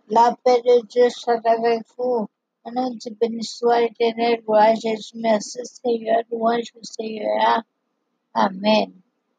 La paix de Dieu soit avec vous. Au nom du béni soit l'Éternel, gloire à Jésus, merci Seigneur, louange au Seigneur. Amen.